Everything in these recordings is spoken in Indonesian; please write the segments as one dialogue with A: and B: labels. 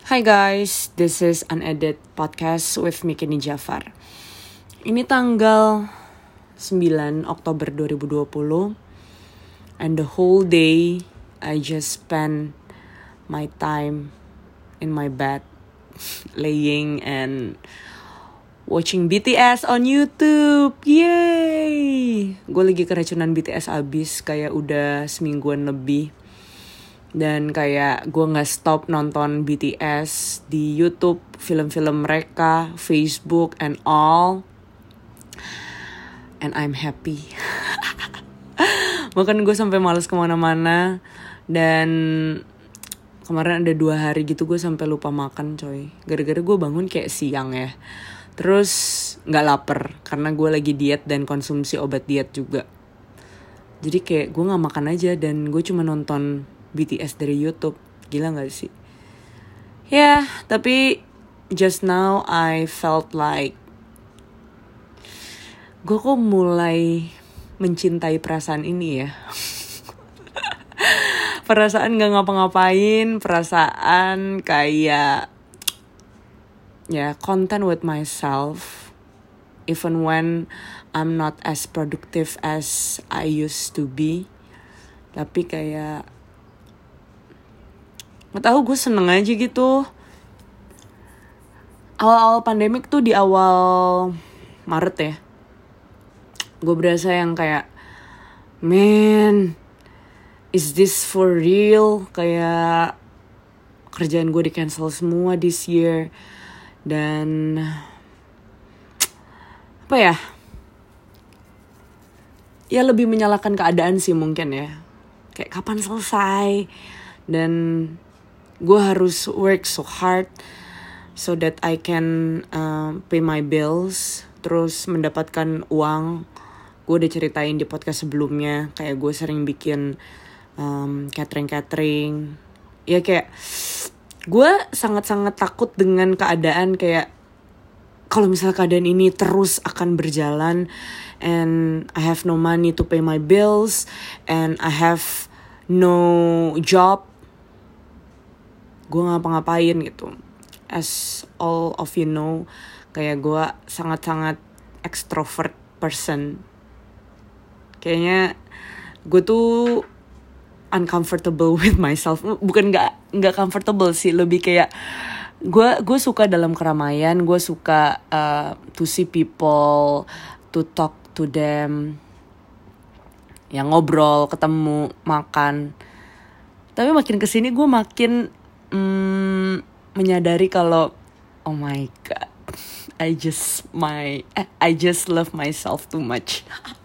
A: Hi guys, this is Unedited Podcast with Mikini Jafar. Ini tanggal 9 Oktober 2020 and the whole day I just spend my time in my bed laying and watching BTS on YouTube. Yay! Gue lagi keracunan BTS abis kayak udah semingguan lebih. Dan kayak gue gak stop nonton BTS di YouTube, film-film mereka, Facebook and all. And I'm happy. Bahkan gue sampai malas kemana-mana. Dan kemarin ada 2 hari gitu gue sampai lupa makan coy. Gara-gara gue bangun kayak siang ya. Terus gak lapar karena gue lagi diet dan konsumsi obat diet juga. Jadi kayak gue gak makan aja dan gue cuma nonton BTS dari YouTube. Gila gak sih? Ya, tapi just now I felt like gue kok mulai mencintai perasaan ini ya. Perasaan gak ngapa-ngapain, perasaan kayak ya content with myself even when I'm not as productive as I used to be. Tapi kayak gak tau, gue seneng aja gitu. Awal-awal pandemik tuh di awal Maret ya, gue berasa yang kayak, man, is this for real? Kayak kerjaan gue di cancel semua this year. Dan apa ya, ya lebih menyalahkan keadaan sih mungkin ya. Kayak kapan selesai. Dan gue harus work so hard so that I can pay my bills, terus mendapatkan uang. Gue udah ceritain di podcast sebelumnya, kayak gue sering bikin catering. Ya kayak gue sangat-sangat takut dengan keadaan kayak kalau misalnya keadaan ini terus akan berjalan and I have no money to pay my bills and I have no job, gue ngapa-ngapain gitu. As all of you know, kayak gue sangat-sangat extrovert person. Kayaknya gue tuh uncomfortable with myself. Bukan nggak comfortable sih, lebih kayak gue suka dalam keramaian. Gue suka to see people, to talk to them, yang ngobrol, ketemu, makan. Tapi makin kesini gue makin menyadari kalau oh my god, I just love myself too much.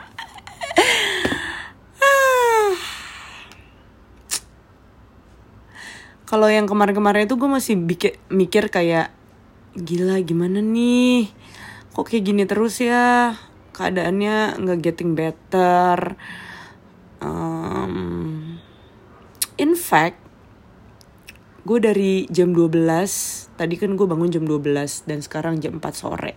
A: Kalau yang kemarin-kemarin itu gue masih mikir kayak gila gimana nih, kok kayak gini terus ya, keadaannya nggak getting better. In fact, gue dari jam 12, tadi kan gue bangun jam 12 dan sekarang jam 4 sore.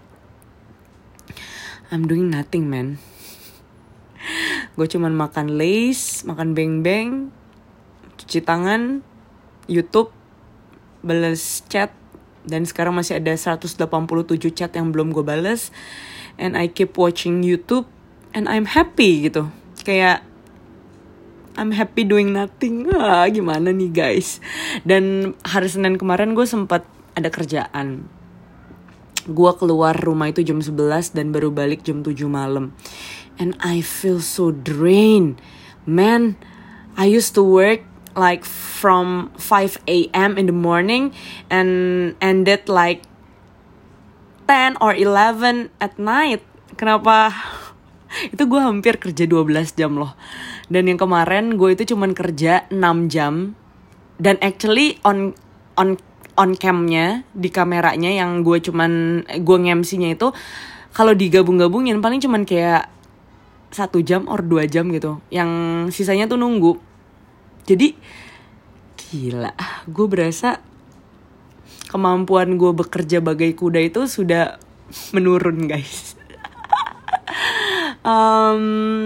A: I'm doing nothing, man. Gue cuman makan Lay's, makan beng-beng, cuci tangan, YouTube, balas chat, dan sekarang masih ada 187 chat yang belum gue balas. And I keep watching YouTube and I'm happy gitu. Kayak I'm happy doing nothing. Gimana nih guys. Dan hari Senin kemarin gue sempat ada kerjaan. Gue keluar rumah itu jam 11 dan baru balik jam 7 malam. And I feel so drained. Man, I used to work like from 5 a.m. in the morning and ended like 10 or 11 at night. Kenapa? Itu gue hampir kerja 12 jam loh. Dan yang kemarin gue itu cuman kerja 6 jam. Dan actually on camnya, di kameranya yang gue nge-MC-nya itu, kalau digabung-gabungin paling cuman kayak 1 jam or 2 jam gitu. Yang sisanya tuh nunggu. Jadi gila, gue berasa kemampuan gue bekerja bagai kuda itu sudah menurun guys.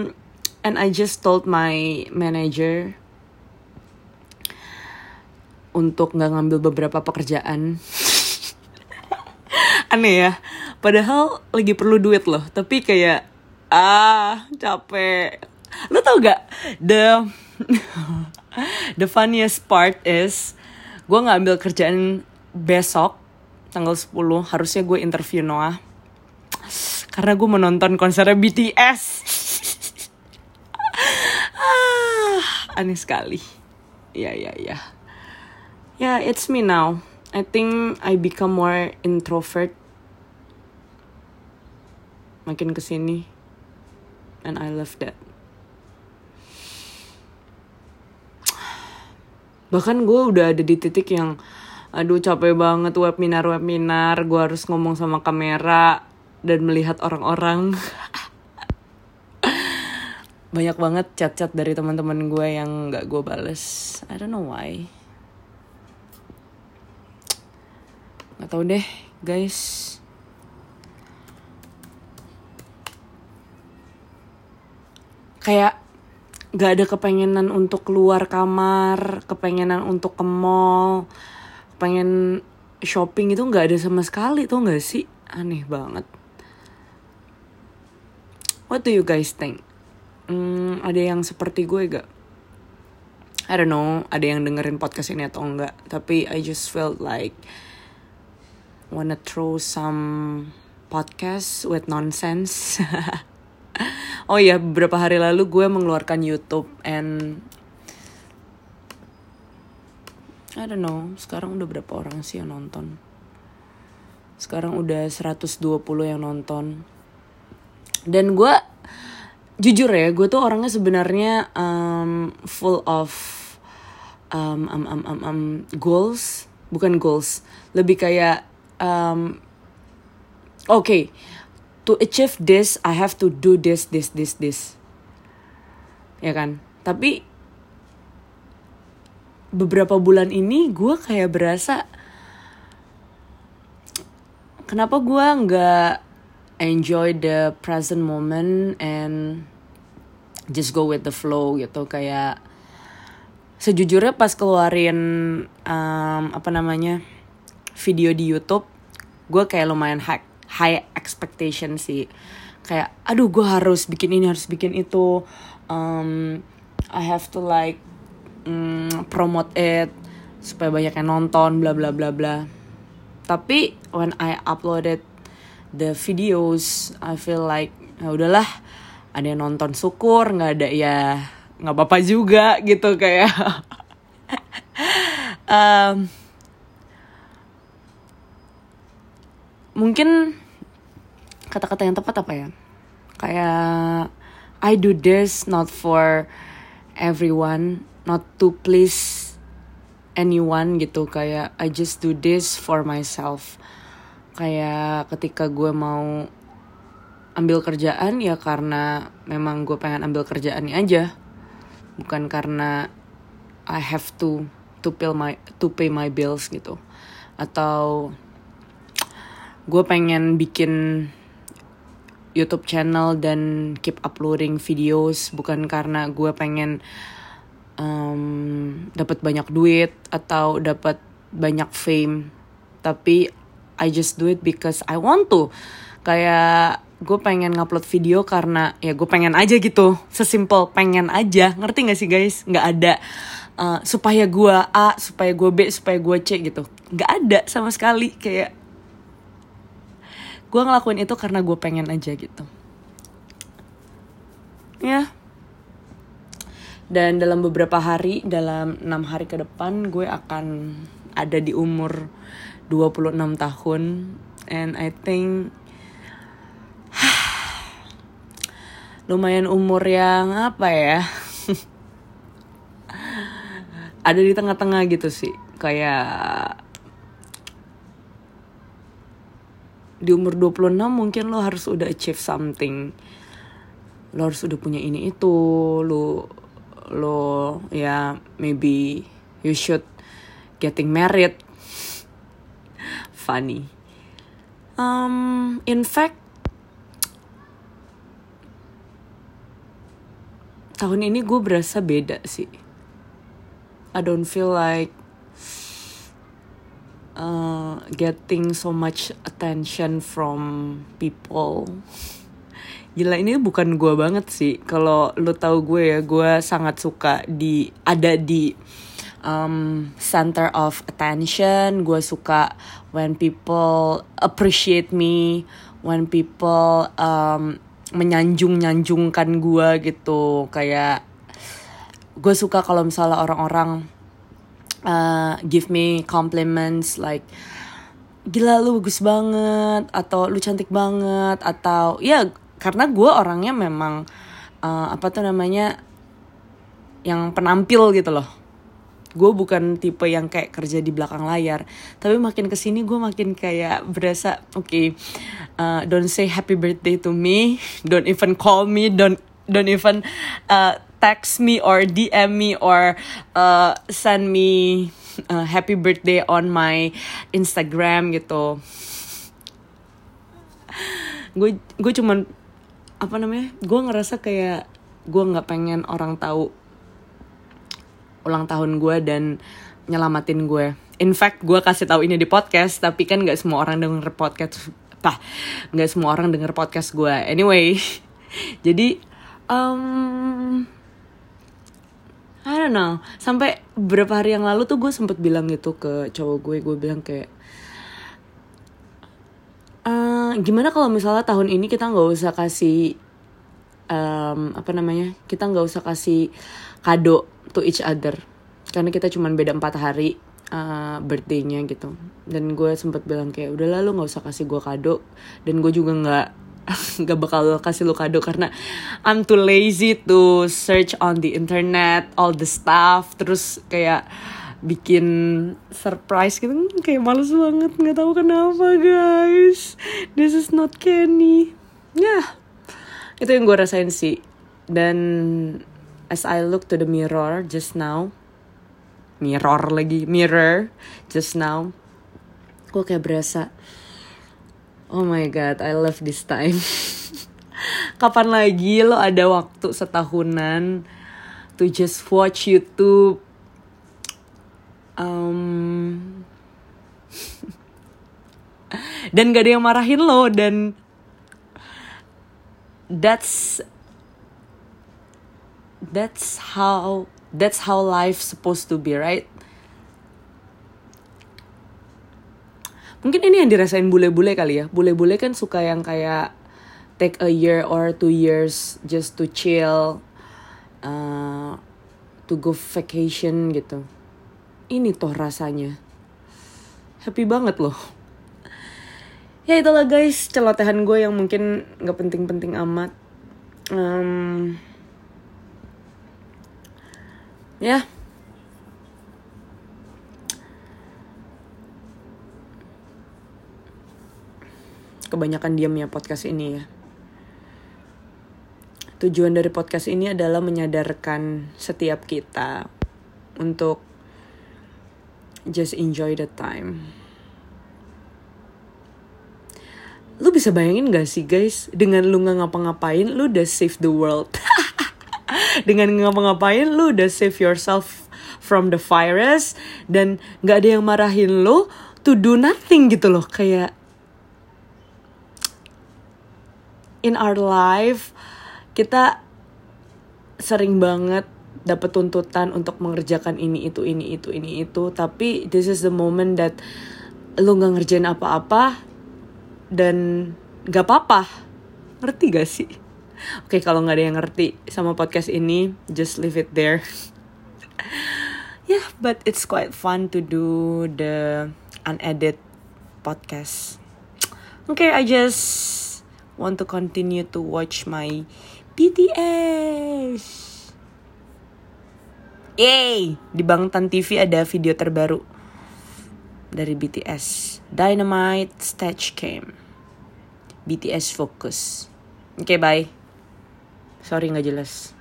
A: And I just told my manager untuk gak ngambil beberapa pekerjaan. Aneh ya, padahal lagi perlu duit loh, tapi kayak capek. Lo tau gak the funniest part is gue ngambil kerjaan besok tanggal 10, harusnya gue interview Noah karena gue menonton konsernya BTS. Aneh sekali. Ya, it's me now. I think I become more introvert makin kesini, and I love that. Bahkan gue udah ada di titik yang aduh capek banget webinar, gue harus ngomong sama kamera dan melihat orang-orang. Banyak banget chat-chat dari teman-teman gue yang gak gue bales. I don't know why. Gak tau deh guys. Kayak gak ada kepengenan untuk keluar kamar, kepengenan untuk ke mall, pengen shopping itu gak ada sama sekali, tuh gak sih? Aneh banget. What do you guys think? Ada yang seperti gue gak? I don't know, ada yang dengerin podcast ini atau enggak, tapi I just felt like wanna throw some podcast with nonsense. Oh iya, beberapa hari lalu gue mengeluarkan YouTube and I don't know, sekarang udah berapa orang sih yang nonton? Sekarang udah 120 yang nonton. Dan gue jujur ya, gue tuh orangnya sebenarnya full of goals, bukan goals, lebih kayak okay, to achieve this I have to do this, ya kan? Tapi beberapa bulan ini gue kayak berasa kenapa gue nggak enjoy the present moment and just go with the flow gitu. Kayak sejujurnya pas keluarin video di YouTube, gue kayak lumayan high expectation sih. Kayak aduh gue harus bikin ini, harus bikin itu, I have to like promote it supaya banyak yang nonton, bla bla bla bla. Tapi when I uploaded the videos, I feel like ya udahlah, ada yang nonton syukur, nggak ada ya nggak apa-apa juga gitu. Kayak mungkin kata-kata yang tepat apa ya, kayak I do this not for everyone, not to please anyone gitu. Kayak I just do this for myself. Kayak ketika gue mau ambil kerjaan ya karena memang gue pengen ambil kerjaannya aja, bukan karena I have to pay my bills gitu. Atau gue pengen bikin YouTube channel dan keep uploading videos bukan karena gue pengen dapat banyak duit atau dapat banyak fame, tapi I just do it because I want to. Kayak gue pengen ngupload video karena ya gue pengen aja gitu, sesimpel pengen aja. Ngerti gak sih guys? Gak ada supaya gue A, supaya gue B, supaya gue C gitu. Gak ada sama sekali. Kayak gue ngelakuin itu karena gue pengen aja gitu. Ya. Dan dalam beberapa hari, dalam 6 hari ke depan, gue akan ada di umur 26 tahun. And I think lumayan umur yang apa ya, ada di tengah-tengah gitu sih. Kayak di umur 26 mungkin lo harus udah achieve something. Lo harus udah punya ini itu. Lo ya maybe you should getting married. Funny. In fact tahun ini gue berasa beda sih. I don't feel like getting so much attention from people. Gila, ini bukan gue banget sih. Kalau lu tahu gue ya, gue sangat suka ada di center of attention. Gue suka when people appreciate me, when people menyanjung-nyanjungkan gue gitu. Kayak gue suka kalau misalnya orang-orang give me compliments like gila lu bagus banget, atau lu cantik banget, atau ya karena gue orangnya memang yang penampil gitu loh. Gue bukan tipe yang kayak kerja di belakang layar. Tapi makin kesini gue makin kayak berasa don't say happy birthday to me, don't even call me, don't even text me or DM me or send me happy birthday on my Instagram gitu. Gue cuman gue ngerasa kayak gue nggak pengen orang tahu ulang tahun gue dan nyelamatin gue. In fact, gue kasih tahu ini di podcast, tapi kan nggak semua orang denger podcast. Nggak semua orang denger podcast gue. Anyway, jadi I don't know. Sampai beberapa hari yang lalu tuh gue sempet bilang gitu ke cowok gue. Gue bilang kayak, gimana kalau misalnya tahun ini kita nggak usah kasih kita nggak usah kasih kado to each other, karena kita cuman beda 4 hari birthday-nya gitu. Dan gue sempet bilang kayak udah lalu nggak usah kasih gue kado, dan gue juga nggak bakal kasih lu kado karena I'm too lazy to search on the internet all the stuff, terus kayak bikin surprise gitu, kayak males banget, nggak tahu kenapa guys, this is not Kenny. Itu yang gue rasain sih. Dan as I look to the mirror just now, gue kayak berasa, oh my god, I love this time. Kapan lagi lo ada waktu setahunan to just watch YouTube, dan gak ada yang marahin lo, dan that's how life supposed to be, right? Mungkin ini yang dirasain bule-bule kali ya. Bule-bule kan suka yang kayak take a year or 2 years just to chill, to go vacation gitu. Ini toh rasanya happy banget loh. Ya itulah guys, celotehan gue yang mungkin gak penting-penting amat. Ya, kebanyakan diam ya podcast ini ya. Tujuan dari podcast ini adalah menyadarkan setiap kita untuk just enjoy the time. Lu bisa bayangin gak sih guys, dengan lu gak ngapa-ngapain, lu udah save the world. Dengan ngapa-ngapain, lu udah save yourself from the virus, dan gak ada yang marahin lu to do nothing gitu loh. Kayak in our life, kita sering banget dapat tuntutan untuk mengerjakan ini itu. Tapi this is the moment that lu gak ngerjain apa-apa, dan gak apa-apa. Ngerti gak sih? Oke, kalau gak ada yang ngerti sama podcast ini, just leave it there. Yeah, but it's quite fun to do the unedited podcast. Okay, I just want to continue to watch my BTS. Yay! Di Bangtan TV ada video terbaru dari BTS, Dynamite Stage Cam. BTS Focus. Oke, bye. Sorry gak jelas.